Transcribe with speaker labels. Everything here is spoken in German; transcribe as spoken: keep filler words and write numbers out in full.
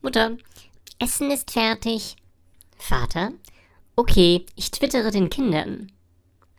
Speaker 1: Mutter, Essen ist fertig. Vater, okay, ich twittere den Kindern.